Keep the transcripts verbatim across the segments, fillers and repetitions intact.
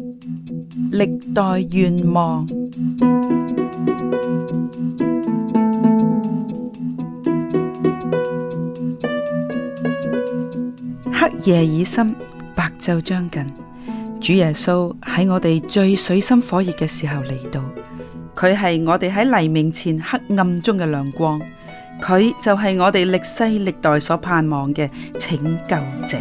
歷代願望。黑夜已深，白晝將近。主耶穌喺我哋最水深火熱嘅時候嚟到，佢係我哋喺黎明前黑暗中嘅亮光，佢就係我哋歷世歷代所盼望嘅拯救者。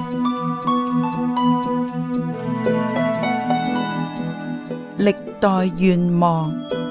歷代願望。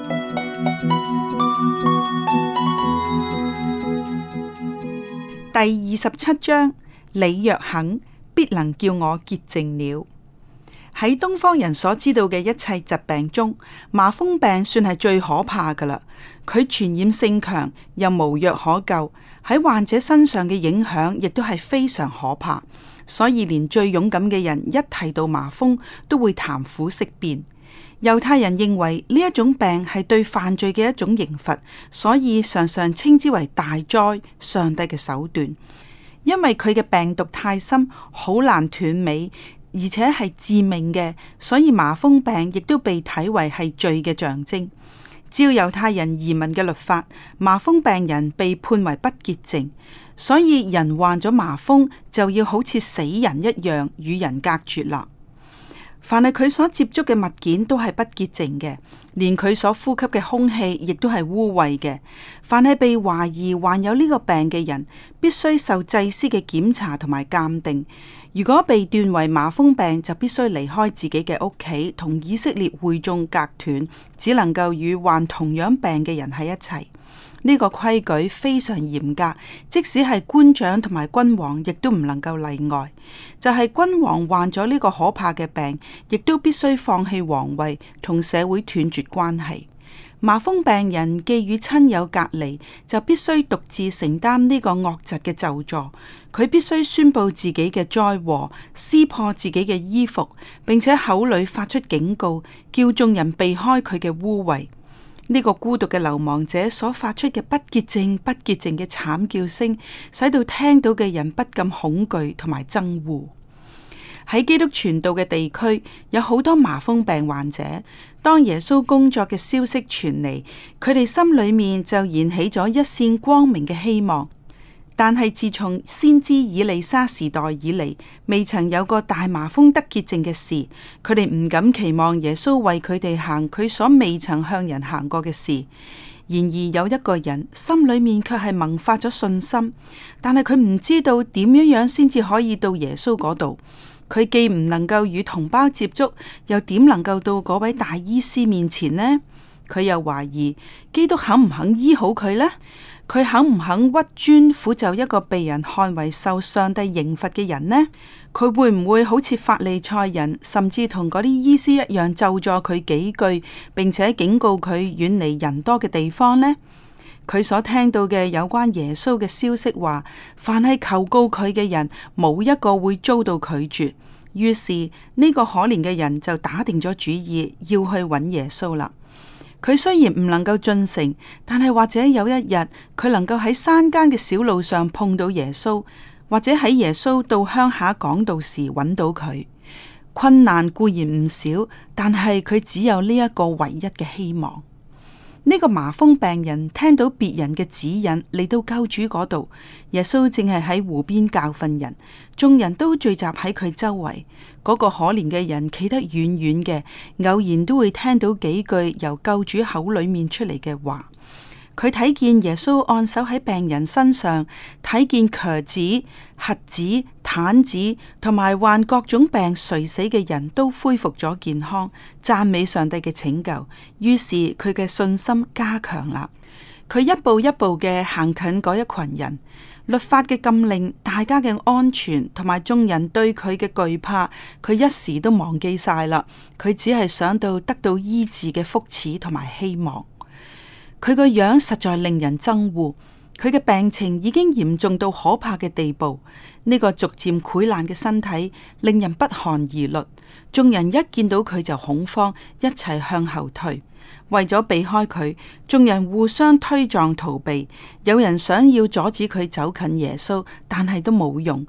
第二十七章，你若肯，必能叫我潔淨了。喺東方人所知道嘅一切疾病中，麻風病算係最可怕噶啦。佢傳染性強，又無藥可救，喺患者身上嘅影響亦都係非常可怕。所以連最勇敢嘅人一提到麻風，都會談虎色變。猶太人認為呢一種病係對犯罪嘅一種刑罰，所以常常稱之為大災，上帝嘅手段。因為佢嘅病毒太深，好難斷尾，而且係致命嘅，所以麻風病亦都被睇為係罪嘅象徵。照猶太人移民嘅律法，麻風病人被判為不潔淨，所以人患咗麻風就要好似死人一樣與人隔絕啦。凡係佢所接觸嘅物件都係不潔淨嘅，連佢所呼吸嘅空氣亦都係污穢嘅。凡係被懷疑患有呢個病嘅人，必須受祭司嘅檢查同埋鑑定。如果被斷為麻風病，就必須離開自己嘅屋企，同以色列會眾隔斷，只能夠與患同樣病嘅人喺一齊。呢個規矩非常嚴格，即使係官長同埋君王，亦都唔能夠例外。就係君王患咗呢個可怕嘅病，亦都必須放棄皇位，同社會斷絕關係。麻風病人既與親友隔離，就必須獨自承擔呢個惡疾嘅咒詛。佢必須宣布自己嘅災禍，撕破自己嘅衣服，並且口裏發出警告，叫眾人避開佢嘅污穢。呢個孤獨嘅流亡者所發出嘅不潔淨、不潔淨嘅慘叫聲，使到聽到嘅人不禁恐懼同埋憎惡。喺基督傳道嘅地區，有好多麻風病患者。當耶穌工作嘅消息傳嚟，佢哋心裏面就燃起咗一線光明嘅希望。但係自從先知以利沙時代以嚟，未曾有過大麻風得潔淨嘅事。佢哋唔敢期望耶穌為佢哋行佢所未曾向人行過嘅事。然而有一個人心裏面卻係萌發咗信心，但係佢唔知道點樣樣先至可以到耶穌嗰度。佢既唔能夠與同胞接觸，又點能夠到嗰位大醫師面前呢？佢又懷疑基督肯唔肯醫好佢呢？佢肯唔肯屈尊俯就一個被人看為受上帝刑罰嘅人呢？佢會唔會好似法利賽人，甚至同嗰啲醫師一樣咒詛佢幾句，並且警告佢遠離人多嘅地方呢？佢所聽到嘅有關耶穌嘅消息話，凡係求告佢嘅人，冇一個會遭到拒絕。於是呢個可憐嘅人就打定咗主意要去揾耶穌啦。佢雖然唔能夠進城，但係或者有一日佢能夠喺山間嘅小路上碰到耶穌，或者喺耶穌到鄉下講道時揾到佢。困難固然唔少，但係佢只有呢一個唯一嘅希望。呢個麻風病人聽到別人嘅指引嚟到救主嗰度，耶穌正係喺湖邊教訓人，眾人都聚集喺佢周圍。嗰個可憐嘅人企得遠遠嘅，偶然都會聽到幾句由救主口裏面出嚟嘅話。佢睇見耶穌按手喺病人身上，睇見瘸子、瞎子、癱子同埋患各種病垂死嘅人都恢復咗健康，讚美上帝嘅拯救。於是佢嘅信心加強啦。佢一步一步嘅行近嗰一群人，律法嘅禁令、大家嘅安全同埋眾人對佢嘅懼怕，佢一時都忘記晒啦。佢只係想到得到醫治嘅福祉同埋希望。佢個樣實在令人憎惡，佢嘅病情已經嚴重到可怕嘅地步。呢個逐漸潰爛嘅身體令人不寒而栗，眾人一見到佢就恐慌，一齊向後退。為咗避開佢，眾人互相推撞逃避。有人想要阻止佢走近耶穌，但係都冇用。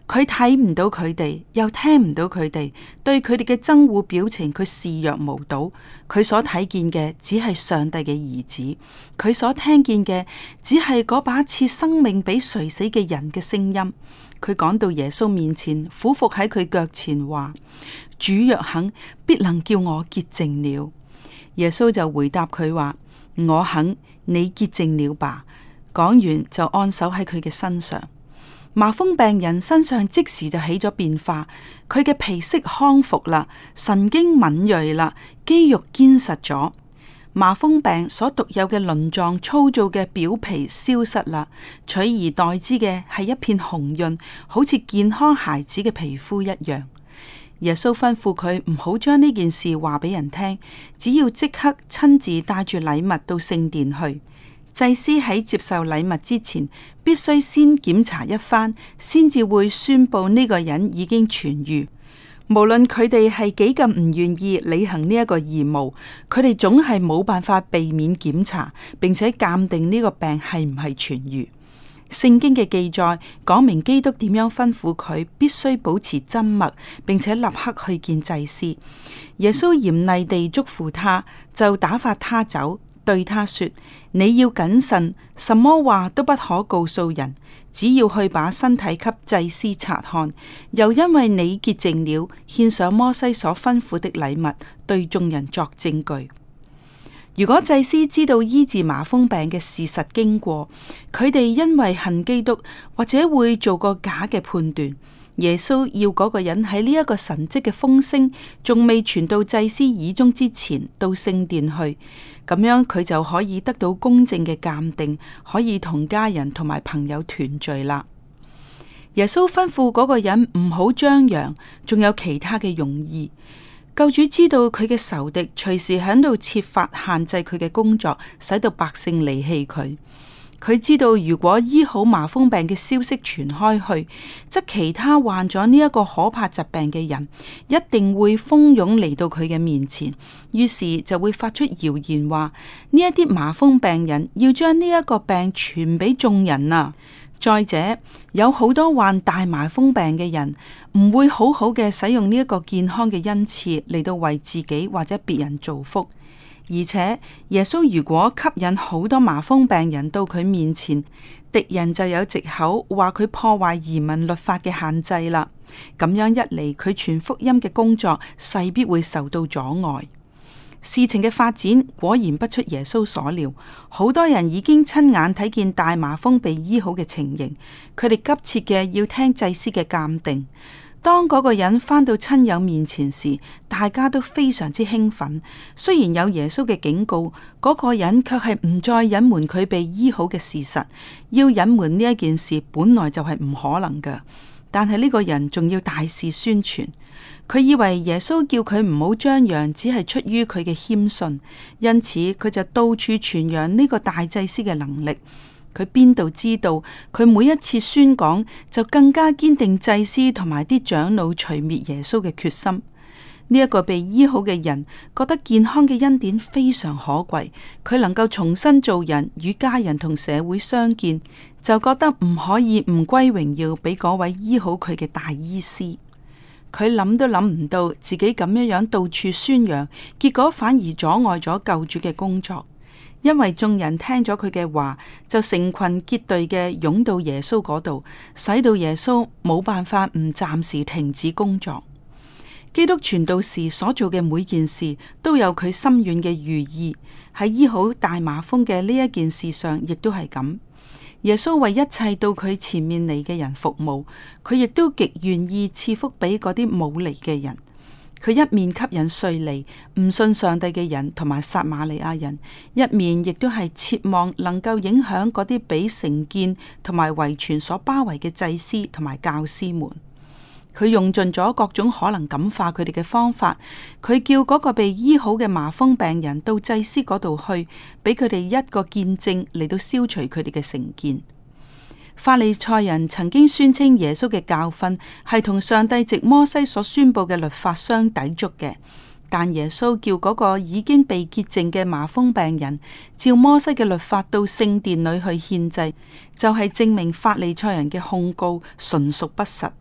佢睇唔到佢哋，又聽唔到佢哋，對佢哋嘅憎惡表情，佢視若無睹。佢所睇見嘅只係上帝嘅兒子，佢所聽見嘅只係嗰把賜生命俾垂死嘅人嘅聲音。佢趕到耶穌面前，俯伏喺佢腳前話：主若肯，必能叫我潔淨了。耶穌就回答佢話：我肯，你潔淨了吧。講完就按手喺佢嘅身上。麻風病人身上即時就起咗變化，佢嘅皮色康復啦，神經敏銳啦，肌肉堅實咗。麻風病所獨有嘅鱗狀粗糙嘅表皮消失啦，取而代之嘅係一片紅潤，好似健康孩子嘅皮膚一樣。耶穌吩咐佢唔好將呢件事話俾人聽，只要即刻親自帶住禮物到聖殿去。祭司喺接受禮物之前，必須先檢查一番，先至會宣布呢個人已經痊癒。無論佢哋係幾咁唔願意履行呢一個義務，佢哋總係冇辦法避免檢查，並且鑒定呢個病係唔係痊癒。聖經嘅記載講明基督點樣吩咐佢必須保持緘默，並且立刻去見祭司。耶穌嚴厲地囑咐他，就打發他走。對他說：你要謹慎，什麼話都不可告訴人，只要去把身體給祭司察看。又因為你潔淨了，獻上摩西所吩咐的禮物，對眾人作證據。如果祭司知道醫治麻風病嘅事實經過，佢哋因為恨基督，或者會做個假嘅判斷。耶穌要嗰個人喺呢一個神蹟嘅風聲仲未傳到祭司耳中之前，到聖殿去，咁樣佢就可以得到公正嘅鑑定，可以同家人同埋朋友團聚啦。耶穌吩咐嗰個人唔好張揚，仲有其他嘅用意。救主知道佢嘅仇敵隨時喺度設法限制佢嘅工作，使到百姓離棄佢。佢知道如果醫好麻風病嘅消息傳開去，則其他患咗呢一個可怕疾病嘅人一定會蜂擁嚟到佢嘅面前，於是就會發出謠言話呢一啲麻風病人要將呢一個病傳俾眾人啊！再者，有好多患大麻風病嘅人唔會好好嘅使用呢一個健康嘅恩賜嚟到為自己或者別人造福。而且耶穌如果吸引好多麻風病人到佢面前，敵人就有藉口話佢破壞移民律法嘅限制啦。咁樣一嚟，佢傳福音嘅工作勢必會受到阻礙。事情嘅發展果然不出耶穌所料，好多人已經親眼睇見大麻風被醫好嘅情形，佢哋急切嘅要聽祭司嘅鑑定。當嗰個人返到親友面前時，大家都非常之興奮。雖然有耶穌嘅警告，嗰個人卻係唔再隱瞞佢被醫好嘅事實。要隱瞞呢一件事，本來就係唔可能㗎。但係呢個人仲要大肆宣傳，佢以為耶穌叫佢唔好張揚，只係出於佢嘅謙遜，因此佢就到處傳揚呢個大祭司嘅能力。佢邊度知道，佢每一次宣講就更加堅定祭司同埋啲長老除滅耶穌嘅決心。呢、這、一個被醫好嘅人覺得健康嘅恩典非常可貴，佢能夠重新做人，與家人同社會相見，就覺得唔可以唔歸榮耀俾嗰位醫好佢嘅大醫師。佢諗都諗唔到自己咁樣樣到處宣揚，結果反而阻礙咗救主嘅工作。因為眾人聽咗佢嘅話，就成群結隊嘅湧到耶穌嗰度，使到耶穌冇辦法唔暫時停止工作。基督傳道時所做嘅每件事都有佢深遠嘅寓意，喺醫好大麻風嘅呢一件事上，亦都係咁。耶穌為一切到佢前面嚟嘅人服務，佢亦都極願意賜福俾嗰啲冇嚟嘅人。佢一面吸引稅吏、唔信上帝嘅人同埋撒瑪利亞人，一面亦都係切望能夠影響嗰啲俾成見同埋遺傳所包圍嘅祭司同埋教師們。佢用盡咗各種可能感化佢哋嘅方法。佢叫嗰個被醫好嘅麻風病人到祭司嗰度去，俾佢哋一個見證嚟到消除佢哋嘅成見。法利賽人曾經宣稱耶穌嘅教訓係同上帝藉摩西所宣布嘅律法相抵觸嘅，但耶穌叫嗰個已經被潔淨嘅麻風病人照摩西嘅律法到聖殿裏去獻祭，就係、是、證明法利賽人嘅控告純屬不實。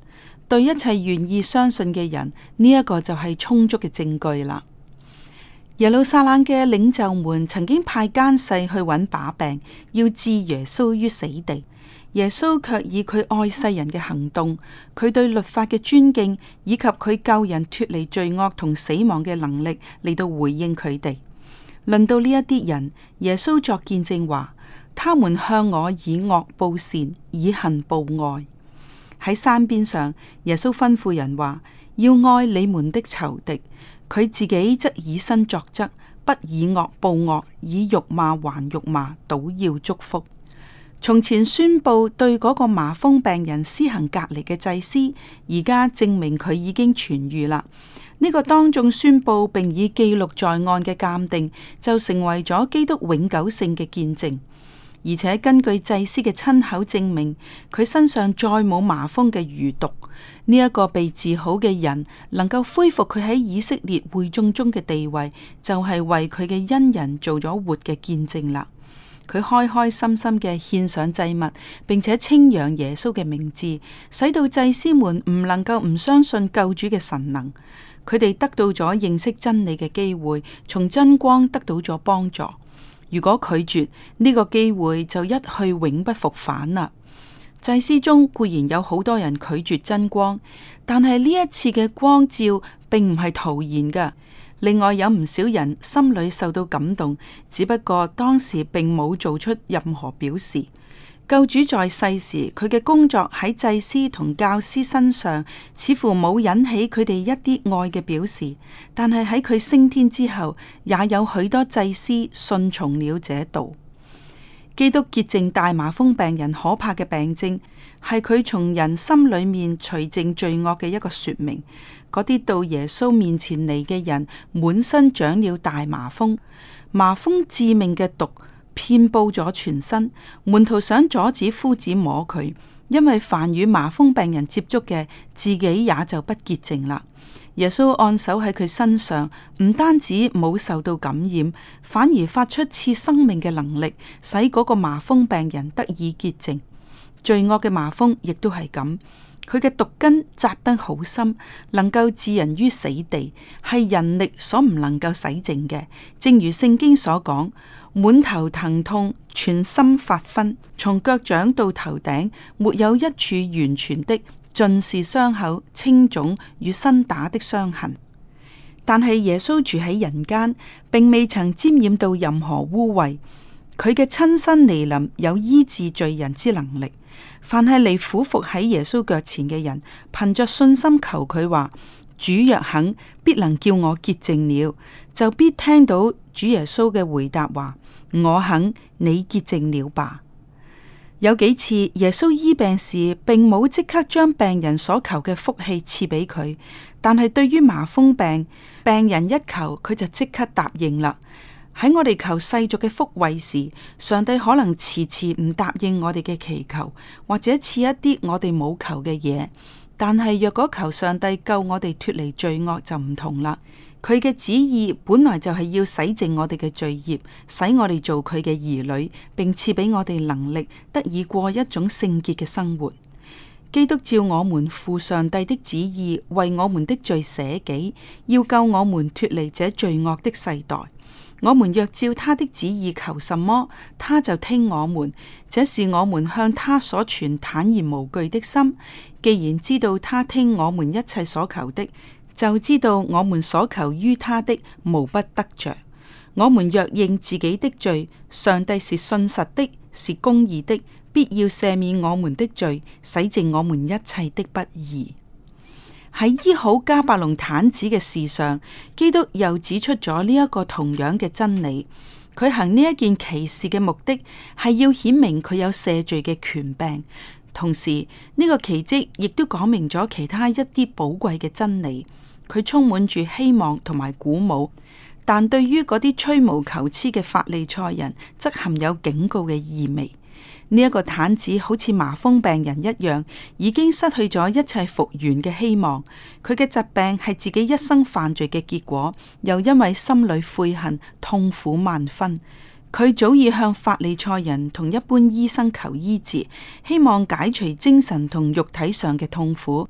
對一切願意相信嘅人，呢一個就係充足嘅證據啦。耶路撒冷嘅領袖們曾經派奸細去揾把柄，要置耶穌於死地。耶穌卻以佢愛世人嘅行動，佢對律法嘅尊敬，以及佢救人脫離罪惡同死亡嘅能力嚟到回應佢哋。論到呢一啲人，耶穌作見證話：他們向我以惡報善，以恨報愛。喺山邊上，耶穌吩咐人話：要愛你們的仇敵。佢自己則以身作則，不以惡報惡，以辱罵還辱罵，倒要祝福。從前宣布對嗰個麻風病人施行隔離嘅祭司，而家證明佢已經痊癒啦。呢、這個當眾宣布並以記錄在案嘅鑑定，就成為咗基督永久性嘅見證。而且根據祭司嘅親口證明，佢身上再冇麻風嘅餘毒。呢、這、一個被治好嘅人能夠恢復佢喺以色列會眾中嘅地位，就係、是、為佢嘅恩人做咗活嘅見證啦。佢開開心心嘅獻上祭物，並且稱揚耶穌嘅名字，使到祭司們唔能夠唔相信救主嘅神能。佢哋得到咗認識真理嘅機會，從真光得到咗幫助。如果拒絕呢、這個機會，就一去永不復返啦。祭司中固然有好多人拒絕真光，但係呢一次嘅光照並唔係徒然嘅。另外有唔少人心裏受到感動，只不過當時並冇做出任何表示。救主在世時，佢嘅工作喺祭司同教師身上似乎冇引起佢哋一啲愛嘅表示，但係喺佢升天之後，也有許多祭司順從了這道。基督潔淨大麻風病人可怕嘅病症，係佢從人心裏面除淨罪惡嘅一個說明。嗰啲到耶穌面前嚟嘅人，滿身長了大麻風，麻風致命嘅毒遍布咗全身。門徒想阻止夫子摸佢，因為凡與麻風病人接觸嘅，自己也就不潔淨啦。耶穌按手喺佢身上，唔單止冇受到感染，反而發出賜生命嘅能力，使嗰個麻風病人得以潔淨。罪惡嘅麻風亦都係咁，佢嘅毒根扎得好深，能夠置人於死地，係人力所唔能夠洗淨嘅。正如聖經所講，滿頭疼痛，全身發昏，從腳掌到頭頂，沒有一處完全的，盡是傷口、青腫與新打的傷痕。但係耶穌住喺人間，並未曾沾染到任何污穢，佢嘅親身嚟臨有醫治罪人之能力。凡係嚟俯伏喺耶穌腳前嘅人，憑着信心求佢話：主若肯，必能叫我潔淨了，就必聽到主耶穌嘅回答話：我肯，你潔淨了吧。有幾次耶穌醫病時，並冇即刻將病人所求嘅福氣賜俾佢，但係對於麻風病，病人一求，佢就即刻答應啦。喺我哋求世俗嘅福惠時，上帝可能遲遲唔答應我哋嘅祈求，或者賜一啲我哋冇求嘅嘢。但係若果求上帝救我哋脫離罪惡就唔同啦。佢嘅旨意本來就係要洗淨我哋嘅罪孽，使我哋做佢嘅兒女，並賜俾我哋能力，得以過一種聖潔嘅生活。基督照我們父上帝的旨意，為我們的罪捨己，要救我們脫離這罪惡的世代。我們若照他的旨意求什麼，他就聽我們。這是我們向他所存坦然無懼的心。既然知道他聽我們一切所求的，就知道我們所求於他的無不得着。我們若認自己的罪，上帝是信實的，是公義的，必要赦免我們的罪，洗淨我們一切的不義。喺醫好迦百農癱子嘅事上，基督又指出咗呢一個同樣嘅真理。佢行呢一件奇事嘅目的係要顯明佢有赦罪嘅權柄，同時呢個奇蹟亦都講明咗其他一啲寶貴嘅真理。佢充滿住希望同埋鼓舞，但對於嗰啲吹毛求疵嘅法利賽人，則含有警告嘅意味。呢一個癱子好似麻風病人一樣，已經失去咗一切復原嘅希望。佢嘅疾病係自己一生犯罪嘅結果，又因為心裏悔恨，痛苦萬分。佢早已向法利賽人同一般醫生求醫治，希望解除精神同肉體上嘅痛苦。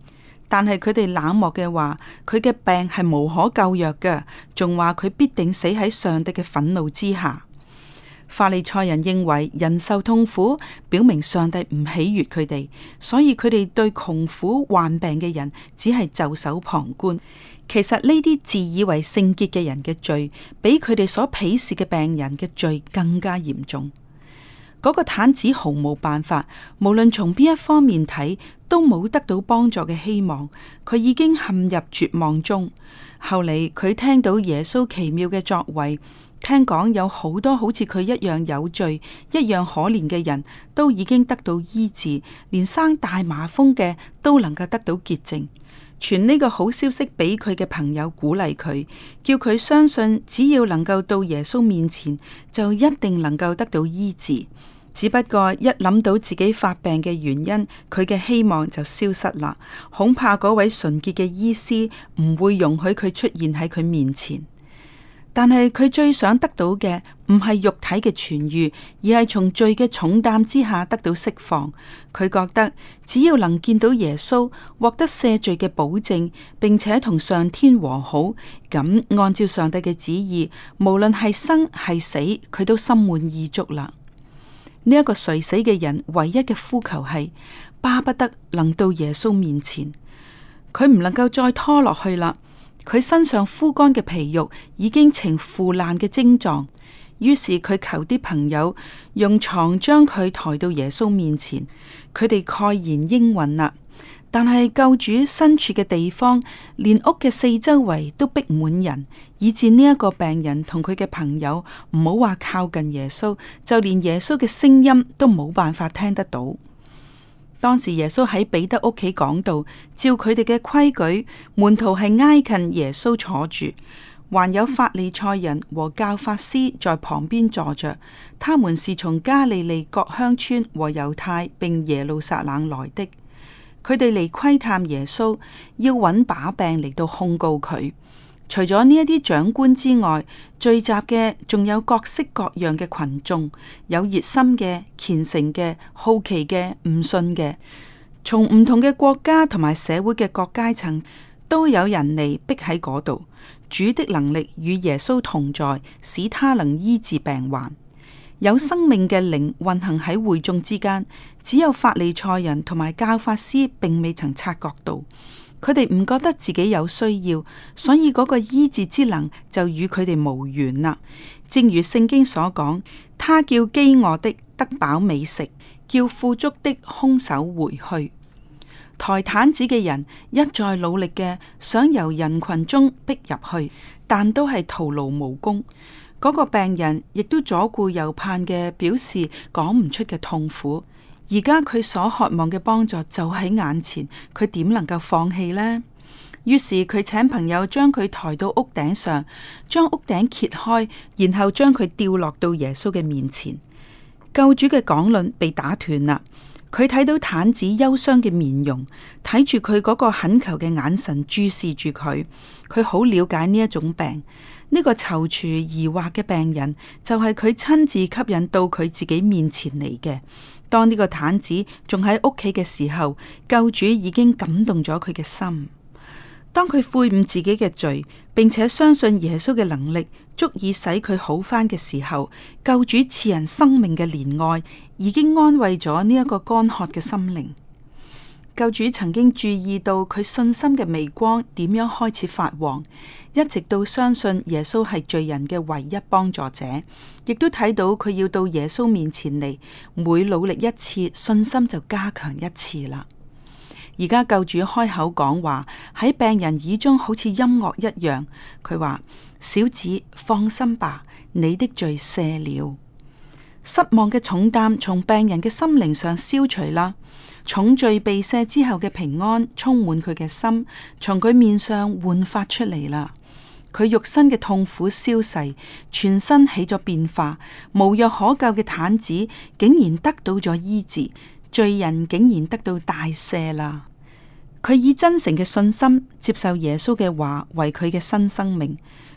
但係佢哋冷漠嘅話，佢嘅病係無可救藥嘅，仲話佢必定死喺上帝嘅憤怒之下。法利賽人認為人受痛苦，表明上帝唔喜悅佢哋，所以佢哋對窮苦患病嘅人只係袖手旁觀。其實呢啲自以為聖潔嘅人嘅罪，比佢哋所鄙視嘅病人嘅罪更加嚴重。嗰個癱子毫無辦法，無論從邊一方面睇，都冇得到幫助嘅希望。佢已經陷入絕望中。後嚟佢聽到耶穌奇妙嘅作為，聽講有好多好似佢一樣有罪、一樣可憐嘅人都已經得到醫治，連生大麻風嘅都能夠得到潔淨。傳呢個好消息俾佢嘅朋友，鼓勵佢，叫佢相信只要能夠到耶穌面前，就一定能夠得到醫治。只不過一諗到自己發病嘅原因，佢嘅希望就消失啦。恐怕嗰位純潔嘅醫師唔會容許佢出現喺佢面前。但係佢最想得到嘅唔係肉體嘅痊癒，而係從罪嘅重擔之下得到釋放。佢覺得只要能見到耶穌，獲得赦罪嘅保證，並且同上天和好，咁按照上帝嘅旨意，無論係生係死，佢都心滿意足啦。呢一個垂死嘅人唯一嘅呼求係巴不得能到耶穌面前，佢唔能夠再拖落去啦。佢身上枯乾嘅皮肉已經呈腐爛嘅症狀，於是佢求啲朋友用床將佢抬到耶穌面前，佢哋蓋然應允啦。但係救主身處嘅地方，連屋嘅四周圍都逼滿人，以致呢一個病人同佢嘅朋友唔好話靠近耶穌，就連耶穌嘅聲音都冇辦法聽得到。當時耶穌喺彼得屋企講道，照佢哋嘅規矩，門徒係挨近耶穌坐住，還有法利賽人和教法師在旁邊坐着。他們是從加利利各鄉村和猶太並耶路撒冷來的。佢哋嚟窺探耶穌，要揾把柄嚟到控告佢。除咗呢一啲長官之外，聚集嘅仲有各式各樣嘅群眾，有熱心嘅、虔誠嘅、好奇嘅、唔信嘅，從唔同嘅國家同埋社會嘅各階層都有人嚟逼喺嗰度。主的能力與耶穌同在，使他能醫治病患。有生命嘅靈運行喺會眾之間，只有法利賽人同埋教法師並未曾察覺到。佢哋唔覺得自己有需要，所以嗰個醫治之能就與佢哋無緣啦。正如聖經所講，他叫飢餓的得飽美食，叫富足的空手回去。抬癱子嘅人一再努力嘅想由人群中逼入去，但都係徒勞無功。嗰個病人亦都左顧右盼嘅表示講唔出嘅痛苦。而家佢所渴望嘅幫助就喺眼前，佢點能夠放棄呢？於是佢請朋友將佢抬到屋頂上，將屋頂揭開，然後將佢吊落到耶穌嘅面前。救主嘅講論被打斷啦。佢睇到癱子憂傷嘅面容，睇住佢嗰個懇求嘅眼神注視住佢，佢好了解呢一種病。呢個躊躇疑惑嘅病人就係佢親自吸引到佢自己面前嚟嘅。當呢個癱子仲喺屋企嘅時候，救主已經感動咗佢嘅心。當佢悔悟自己嘅罪，並且相信耶穌嘅能力足以使佢好返嘅時候，救主賜人生命嘅憐愛已經安慰咗呢一個乾渴嘅心靈。救主曾經注意到佢信心嘅微光點樣開始發黃，一直到相信耶穌係罪人嘅唯一幫助者，亦都睇到佢要到耶穌面前嚟，每努力一次，信心就加強一次啦。而家救主開口講話，喺病人耳中好似音樂一樣。佢話：小子，放心吧，你的罪赦了。失望嘅重擔從病人嘅心靈上消除啦，重罪被赦之後嘅平安充滿佢嘅心，從佢面上煥發出嚟啦。佢肉身嘅痛苦消逝，全身起咗變化，無藥可救嘅癱子竟然得到咗醫治，罪人竟然得到大赦啦。佢以真誠嘅信心接受耶穌嘅話為佢嘅新生命，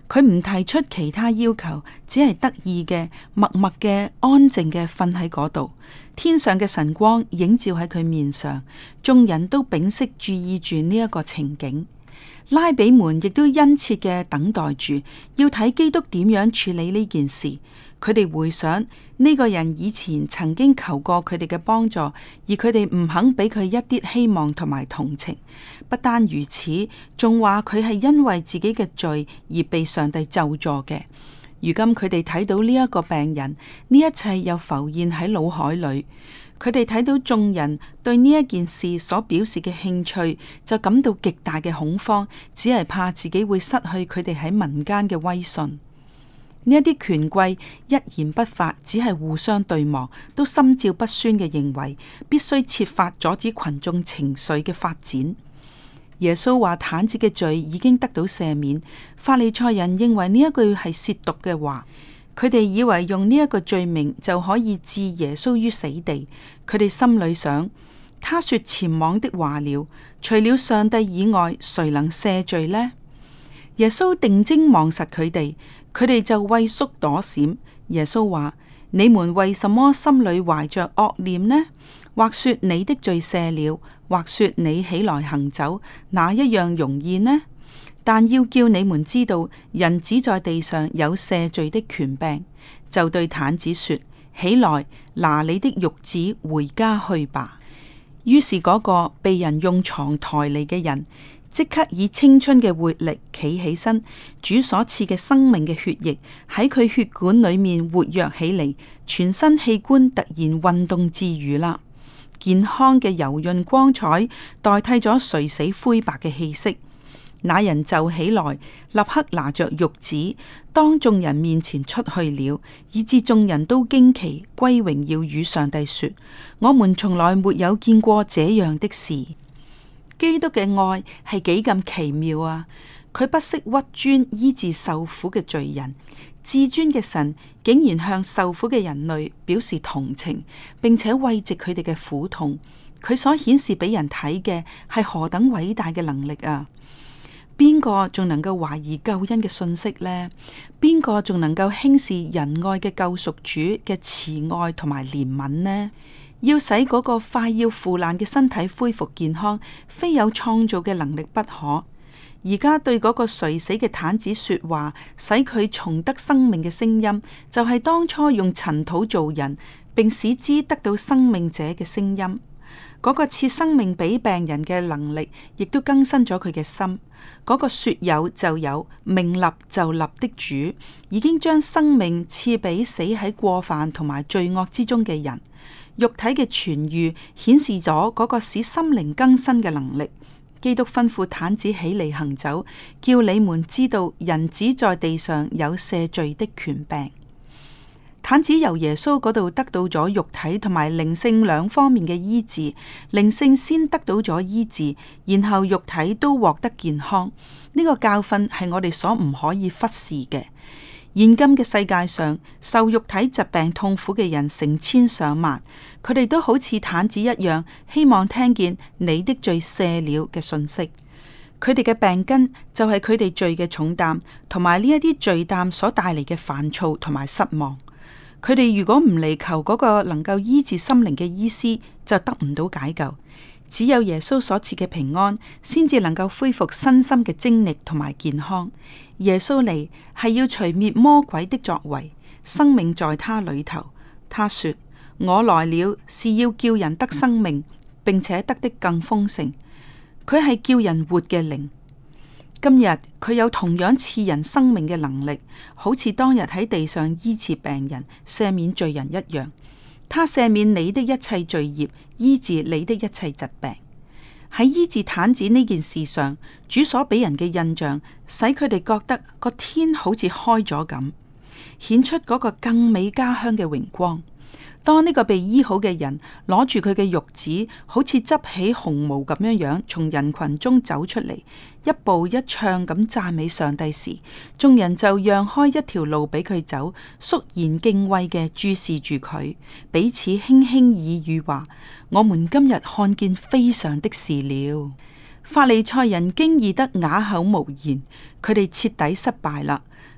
佢唔提出其他要求，只係得意嘅、默默嘅、安靜嘅瞓喺嗰度。天上嘅晨光映照喺佢面上，眾人都屏息注意住呢一個情景。拉比們亦都殷切嘅等待住，要睇基督點樣處理呢件事。佢哋回想呢個人以前曾經求過佢哋嘅幫助，而佢哋唔肯俾佢一啲希望同埋同情。不單如此，仲話佢係因為自己嘅罪而被上帝咒詛嘅。如今佢哋睇到呢一個病人，呢一切又浮現喺腦海裏。佢哋睇到眾人對呢一件事所表示嘅興趣，就感到極大嘅恐慌，只係怕自己會失去佢哋喺民間嘅威信。呢一啲權貴一言不發，只係互相對望，都心照不宣嘅認為必須設法阻止群眾情緒嘅發展。耶穌話癱子嘅罪已經得到赦免。法利賽人認為呢一句係褻瀆嘅話，佢哋以為用呢一個罪名就可以置耶穌於死地。佢哋心裏想，他說僭妄的話了，除了上帝以外，誰能赦罪呢？耶穌定睛望實佢哋，佢哋就畏縮躲閃。耶穌話：你們為什麼心裏懷着惡念呢？或說你的罪赦了，或說你起來行走，哪一樣容易呢？但要叫你們知道，人子在地上有赦罪的權柄。就對癱子說：起來，拿你的褥子回家去吧。於是嗰個被人用床抬嚟嘅人，即刻以青春嘅活力企起身，主所賜嘅生命嘅血液喺佢血管裏面活躍起嚟，全身器官突然運動自如啦。健康嘅柔潤光彩代替咗垂死灰白嘅氣息。那人就起來，立刻拿着褥子，當眾人面前出去了，以致眾人都驚奇，歸榮耀與上帝說：我們從來沒有見過這樣的事。基督嘅愛係幾咁奇妙啊！佢不惜屈尊醫治受苦嘅罪人，至尊嘅神竟然向受苦嘅人類表示同情，並且慰藉佢哋嘅苦痛。佢所顯示俾人睇嘅係何等偉大嘅能力啊！邊個仲能夠懷疑救恩嘅信息呢？邊個仲能夠輕視仁愛嘅救贖主嘅慈愛同埋憐憫呢？要使嗰個快要腐爛嘅身體恢復健康，非有創造嘅能力不可。而家對嗰個垂死嘅癱子說話，使佢重得生命嘅聲音，就係、是、當初用塵土造人，並使之得到生命者嘅聲音。嗰、那個賜生命俾病人嘅能力，亦都更新咗佢嘅心。嗰、那個說有就有、命立就立的主，已經將生命賜俾死喺過犯同埋罪惡之中嘅人。肉體嘅痊癒顯示咗嗰個使心靈更新嘅能力。基督吩咐癱子起嚟行走，叫你們知道人子在地上有赦罪的權柄。癱子由耶穌嗰度得到咗肉體同埋靈性兩方面嘅醫治，靈性先得到咗醫治，然後肉體都獲得健康。呢、這個教訓係我哋所唔可以忽視嘅。現今嘅世界上，受肉體疾病痛苦嘅人成千上萬，佢哋都好似癱子一樣，希望聽見你的罪赦了嘅信息。佢哋嘅病根就係佢哋罪嘅重擔，同埋呢一啲罪擔所帶嚟嘅煩躁同埋失望。佢哋如果唔嚟求嗰個能夠醫治心靈嘅醫師，就得唔到解救。只有耶穌所賜嘅平安，先至能夠恢復身心嘅精力同埋健康。耶穌嚟係要除滅魔鬼的作為，生命在他裏頭。他說：我來了是要叫人得生命，並且得的更豐盛。佢係叫人活嘅靈。今日佢有同樣賜人生命嘅能力，好似當日喺地上醫治病人、赦免罪人一樣。他赦免你的一切罪孽，醫治你的一切疾病。喺醫治癱子呢件事上，主所俾人嘅印象，使佢哋覺得個天好似開咗咁，顯出嗰個更美家鄉嘅榮光。當呢個被醫好嘅人攞住佢嘅褥子，好似執起紅毛咁樣樣，從人群中走出嚟，一步一唱咁讚美上帝時，眾人就讓開一條路俾佢走，肅然敬畏嘅注視住佢，彼此輕輕耳語話：我們今日看見非常的事了。法利賽人驚異得啞口無言，佢哋徹底失敗啦。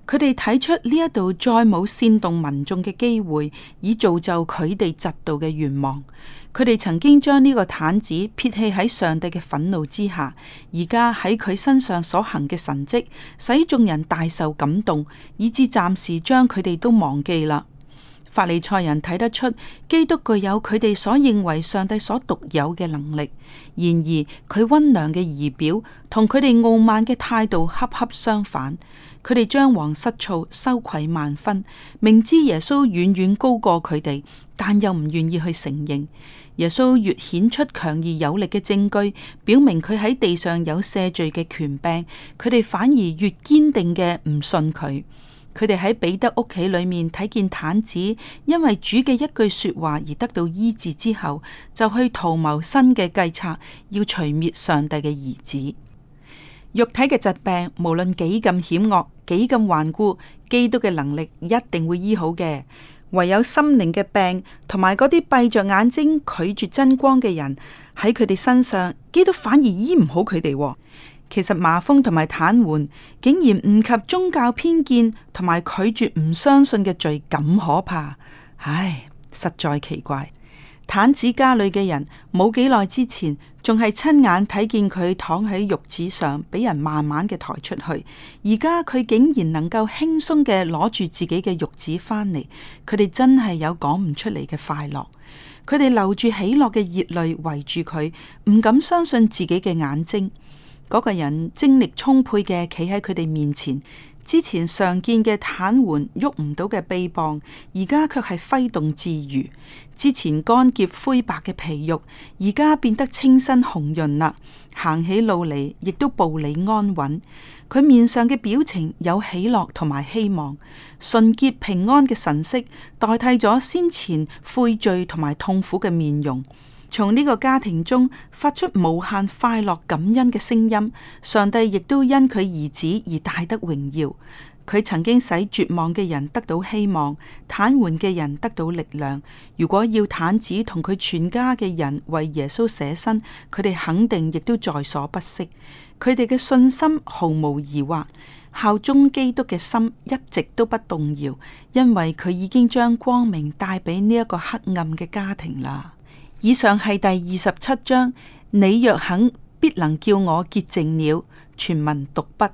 佢哋睇出呢一度再冇煽動民眾嘅機會，以造就佢哋嫉妒嘅願望。佢哋曾經將呢個毯子撇棄喺上帝嘅憤怒之下，而家喺佢身上所行嘅神蹟，使眾人大受感動，以致暫時將佢哋都忘記啦。法利賽人睇得出基督具有佢哋所認為上帝所獨有嘅能力，然而佢溫良嘅儀表同佢哋傲慢嘅態度恰恰相反。佢哋張皇失措，羞愧萬分，明知耶穌遠遠高過佢哋，但又唔願意去承認。耶穌越顯出強而有力嘅證據，表明佢喺地上有赦罪嘅權柄，佢哋反而越堅定嘅唔信佢。佢哋喺彼得屋企裏面睇見毯子，因為主嘅一句說話而得到醫治之後，就去圖謀新嘅計策，要除滅上帝嘅兒子。肉體嘅疾病無論幾咁險惡，幾咁頑固，基督嘅能力一定會醫好嘅。唯有心靈嘅病同埋嗰啲閉着眼睛拒絕真光嘅人，喺佢哋身上，基督反而醫唔好佢哋。其實麻風同埋癱瘓竟然唔及宗教偏見同埋拒絕唔相信嘅罪咁可怕，唉，實在奇怪。癱子家裏嘅人冇幾耐之前仲係親眼睇見佢躺喺褥子上，俾人慢慢嘅抬出去，而家佢竟然能夠輕鬆嘅攞住自己嘅褥子返嚟，佢哋真係有講唔出嚟嘅快樂。佢哋流住喜樂嘅熱淚圍住佢，唔敢相信自己嘅眼睛。嗰個人精力充沛嘅企喺佢哋面前，之前常見嘅癱瘓喐唔到嘅臂膀，而家卻係揮動自如；之前乾澀灰白嘅皮肉，而家變得清新紅潤啦。行起路嚟亦都步履安穩，佢面上嘅表情有喜樂同埋希望，純潔平安嘅神色代替咗先前悔罪同埋痛苦嘅面容。從呢個家庭中發出無限快樂感恩嘅聲音，上帝亦都因佢兒子而大得榮耀。佢曾經使絕望嘅人得到希望，癱瘓嘅人得到力量。如果要癱子同佢全家嘅人為耶穌捨身，佢哋肯定亦都在所不惜。佢哋嘅信心毫無疑惑，效忠基督嘅心一直都不動搖，因為佢已經將光明帶俾呢一個黑暗嘅家庭啦。以上係第二十七章，你若肯，必能叫我潔淨了。全文讀畢。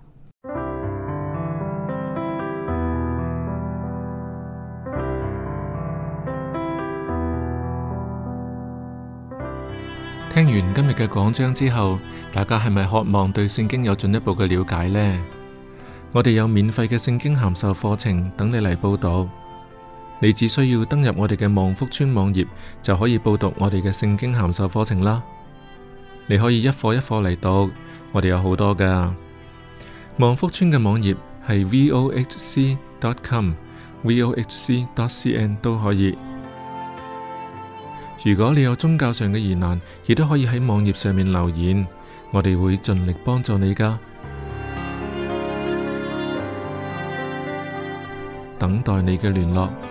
聽完今日嘅講章之後，大家係咪渴望對聖經有進一步嘅了解呢？我哋有免費嘅聖經函授課程等你嚟報讀。你只需要登入我哋嘅望福村網頁，就可以報讀我哋嘅聖經函授課程啦。你可以一課一課嚟讀，我哋有好多噶。望福村嘅網頁係 v o h c dot com、v o h c dot c n 都可以。如果你有宗教上嘅疑難，亦都可以喺網頁上面留言，我哋會盡力幫助你噶。等待你嘅聯絡。